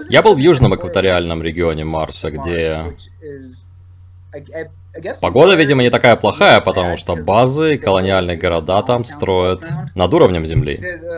Я был в южном экваториальном регионе Марса, где погода, видимо, не такая плохая, потому что базы и колониальные города там строят над уровнем Земли.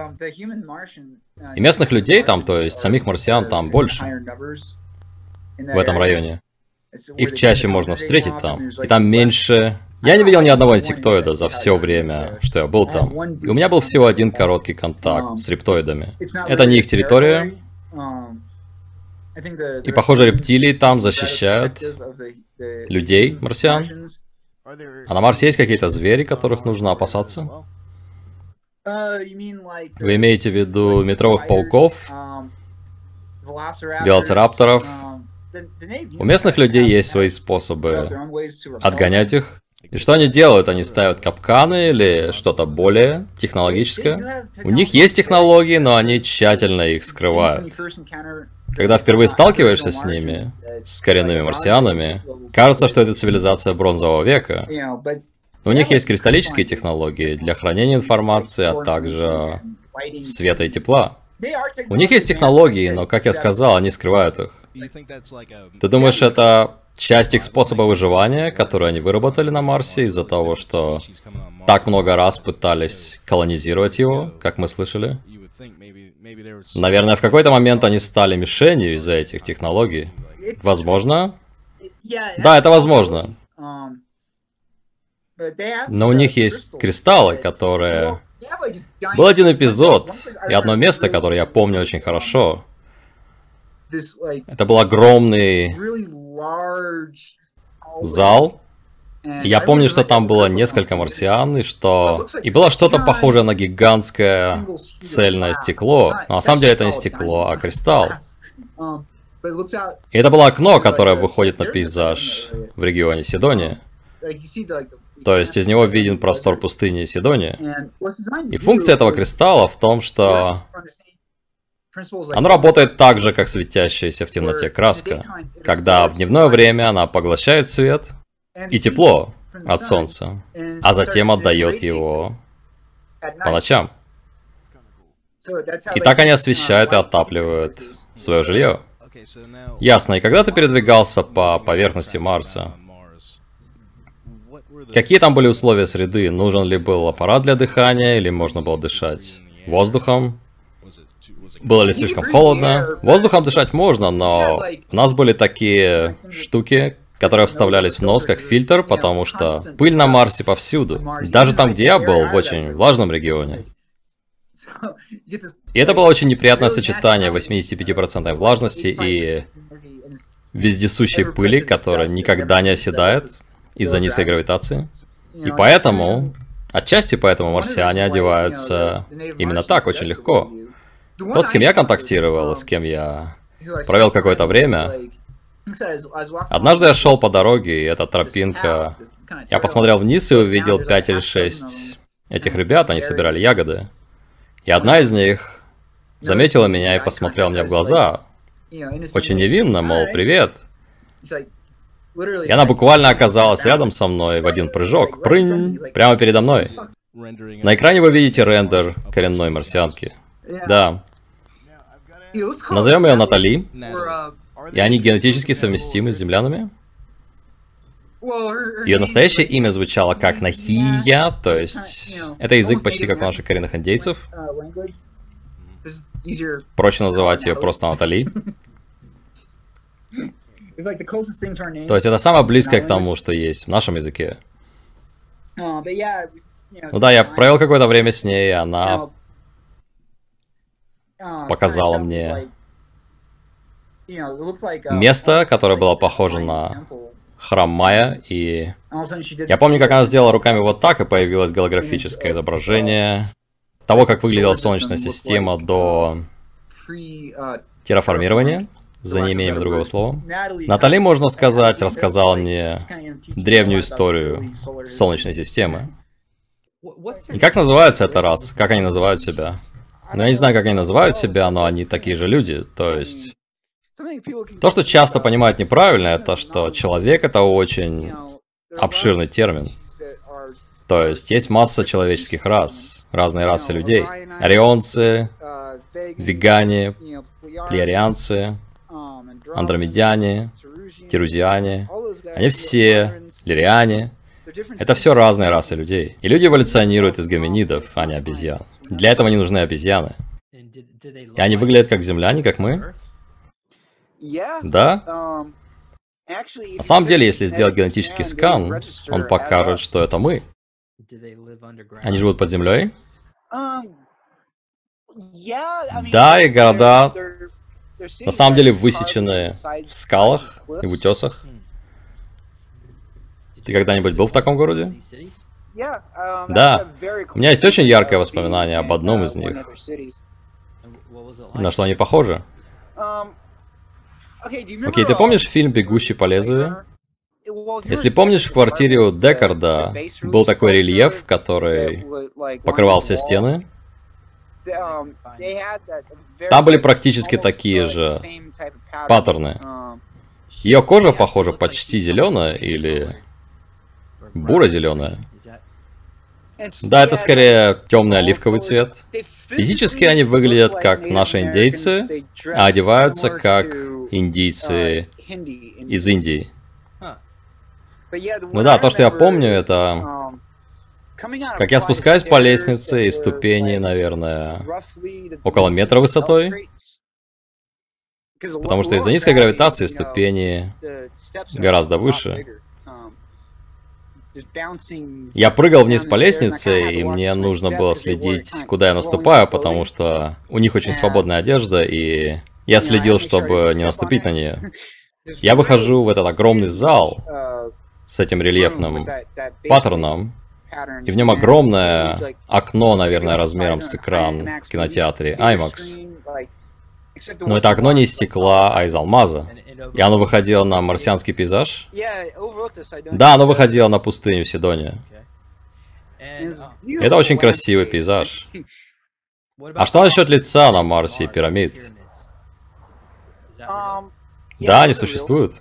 И местных людей там, то есть самих марсиан, там больше в этом районе. Их чаще можно встретить там. И там меньше... Я не видел ни одного инсектоида за все время, что я был там. И у меня был всего один короткий контакт с рептоидами. Это не их территория. И, похоже, рептилии там защищают людей, марсиан. А на Марсе есть какие-то звери, которых нужно опасаться? Вы имеете в виду метровых пауков, велоцирапторов? У местных людей есть свои способы отгонять их. И что они делают? Они ставят капканы или что-то более технологическое? У них есть технологии, но они тщательно их скрывают. Когда впервые сталкиваешься с ними, с коренными марсианами, кажется, что это цивилизация бронзового века. Но у них есть кристаллические технологии для хранения информации, а также света и тепла. У них есть технологии, но, как я сказал, они скрывают их. Ты думаешь, это часть их способа выживания, который они выработали на Марсе из-за того, что так много раз пытались колонизировать его, как мы слышали? Наверное, в какой-то момент они стали мишенью из-за этих технологий. Возможно? Да, это возможно. Но у них есть кристаллы, которые... Был один эпизод и одно место, которое я помню очень хорошо. Это был огромный зал. И я помню, что там было несколько марсиан, и было что-то похожее на гигантское цельное стекло. Но на самом деле это не стекло, а кристалл. И это было окно, которое выходит на пейзаж в регионе Сидония. То есть из него виден простор пустыни Сидония. И функция этого кристалла в том, что оно работает так же, как светящаяся в темноте краска, когда в дневное время она поглощает свет и тепло от солнца, а затем отдает его по ночам. И так они освещают и отапливают свое жилье. Ясно. И когда ты передвигался по поверхности Марса, какие там были условия среды? Нужен ли был аппарат для дыхания, или можно было дышать воздухом? Было ли слишком холодно? Воздухом дышать можно, но у нас были такие штуки, которые вставлялись в нос как фильтр, потому что пыль на Марсе повсюду. Даже там, где я был, в очень влажном регионе. И это было очень неприятное сочетание 85% влажности и вездесущей пыли, которая никогда не оседает из-за низкой гравитации. И поэтому, отчасти поэтому марсиане одеваются именно так, очень легко. Тот, с кем я контактировал, с кем я провел какое-то время, однажды я шел по дороге, и эта тропинка... Я посмотрел вниз и увидел 5 или 6 этих ребят, они собирали ягоды. И одна из них заметила меня и посмотрела мне в глаза. Очень невинно, мол, привет. И она буквально оказалась рядом со мной в один прыжок. Прынь! Прямо передо мной. На экране вы видите рендер коренной марсианки. Да. Назовем ее Натали. И они генетически совместимы с землянами. Ее настоящее имя звучало как Нахия, то есть это язык почти как у наших коренных индейцев. Проще называть ее просто Натали. То есть это самое близкое к тому, что есть в нашем языке. Ну да, я провел какое-то время с ней, и она показала мне место, которое было похоже на храм Майя, и я помню, как она сделала руками вот так, и появилось голографическое изображение того, как выглядела Солнечная система до терраформирования, за неимением другого слова. Натали, можно сказать, рассказала мне древнюю историю Солнечной системы. И как называется эта раса? Как они называют себя? Ну, я не знаю, как они называют себя, но они такие же люди, то есть... То, что часто понимают неправильно, это что человек — это очень обширный термин. То есть масса человеческих рас, разные расы людей. Орионцы, вегане, плеярианцы, андромедяне, терузиане, они все лириане. Это все разные расы людей. И люди эволюционируют из гоминидов, а не обезьян. Для этого не нужны обезьяны. И они выглядят как земляне, как мы? Да. На самом деле, если сделать генетический скан, он покажет, что это мы. Они живут под землей? Да, и города на самом деле высечены в скалах и в утесах. Ты когда-нибудь был в таком городе? Да. У меня есть очень яркое воспоминание об одном из них. На что они похожи? Окей, ты помнишь фильм «Бегущий по лезвию»? Если помнишь, в квартире у Декарда был такой рельеф, который покрывал все стены. Там были практически такие же паттерны. Ее кожа, похоже, почти зеленая или буро-зеленая. Да, это скорее темный оливковый цвет. Физически они выглядят как наши индейцы, а одеваются как индийцы из Индии. Ну да, то, что я помню, это... Как я спускаюсь по лестнице, и ступени, наверное, около метра высотой. Потому что из-за низкой гравитации ступени гораздо выше. Я прыгал вниз по лестнице, и мне нужно было следить, куда я наступаю, потому что у них очень свободная одежда, и я следил, чтобы не наступить на нее. Я выхожу в этот огромный зал с этим рельефным паттерном, и в нем огромное окно, наверное, размером с экран в кинотеатре IMAX. Но это окно не из стекла, а из алмаза. И оно выходило на марсианский пейзаж? Да, оно выходило на пустыню Сидония. Это очень красивый пейзаж. А что насчет лица на Марсе и пирамид? Да, они существуют.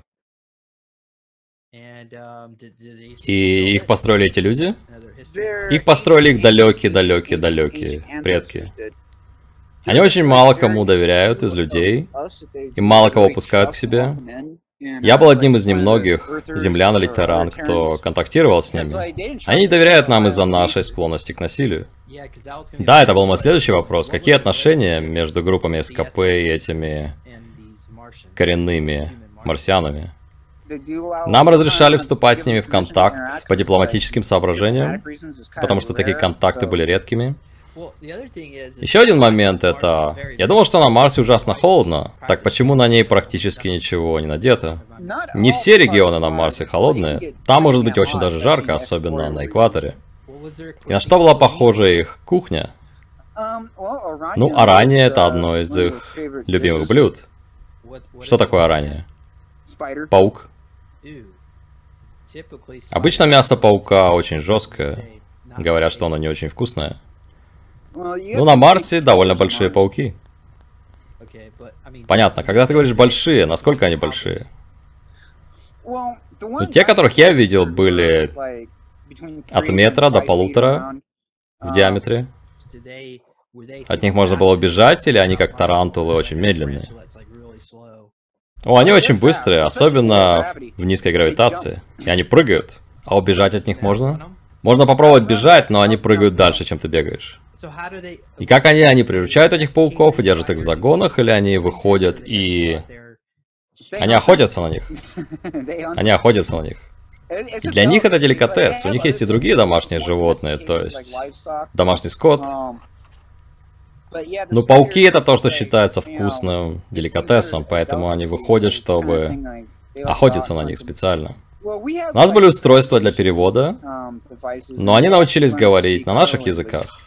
И их построили эти люди? Их построили их далекие предки. Они очень мало кому доверяют из людей, и мало кого пускают к себе. Я был одним из немногих землян или терран, кто контактировал с ними. Они не доверяют нам из-за нашей склонности к насилию. Да, это был мой следующий вопрос. Какие отношения между группами СКП и этими коренными марсианами? Нам разрешали вступать с ними в контакт по дипломатическим соображениям, потому что такие контакты были редкими. Еще один момент это... Я думал, что на Марсе ужасно холодно. Так почему на ней практически ничего не надето? Не все регионы на Марсе холодные. Там может быть очень даже жарко, особенно на экваторе. И на что была похожа их кухня? Ну, арания это одно из их любимых блюд. Что такое арания? Паук. Обычно мясо паука очень жесткое. Говорят, что оно не очень вкусное. Ну, на Марсе довольно большие пауки. Понятно. Когда ты говоришь большие, насколько они большие? Ну, те, которых я видел, были от метра до 1,5 в диаметре. От них можно было убежать, или они как тарантулы очень медленные? О, они очень быстрые, особенно в низкой гравитации. И они прыгают. А убежать от них можно? Можно попробовать бежать, но они прыгают дальше, чем ты бегаешь. И как они приручают этих пауков и держат их в загонах, или они выходят и... Они охотятся на них. Они охотятся на них. И для них это деликатес. У них есть и другие домашние животные, то есть домашний скот. Но пауки это то, что считается вкусным деликатесом, поэтому они выходят, чтобы охотиться на них специально. У нас были устройства для перевода, но они научились говорить на наших языках.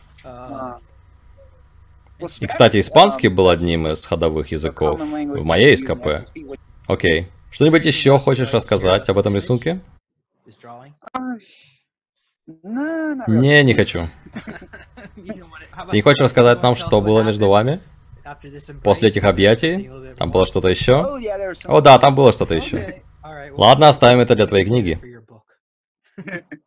И, кстати, испанский был одним из ходовых языков в моей СКП. Окей. Что-нибудь еще хочешь рассказать об этом рисунке? Не хочу. Ты не хочешь рассказать нам, что было между вами? После этих объятий? Там было что-то еще? О да, там было что-то еще. Ладно, оставим это для твоей книги.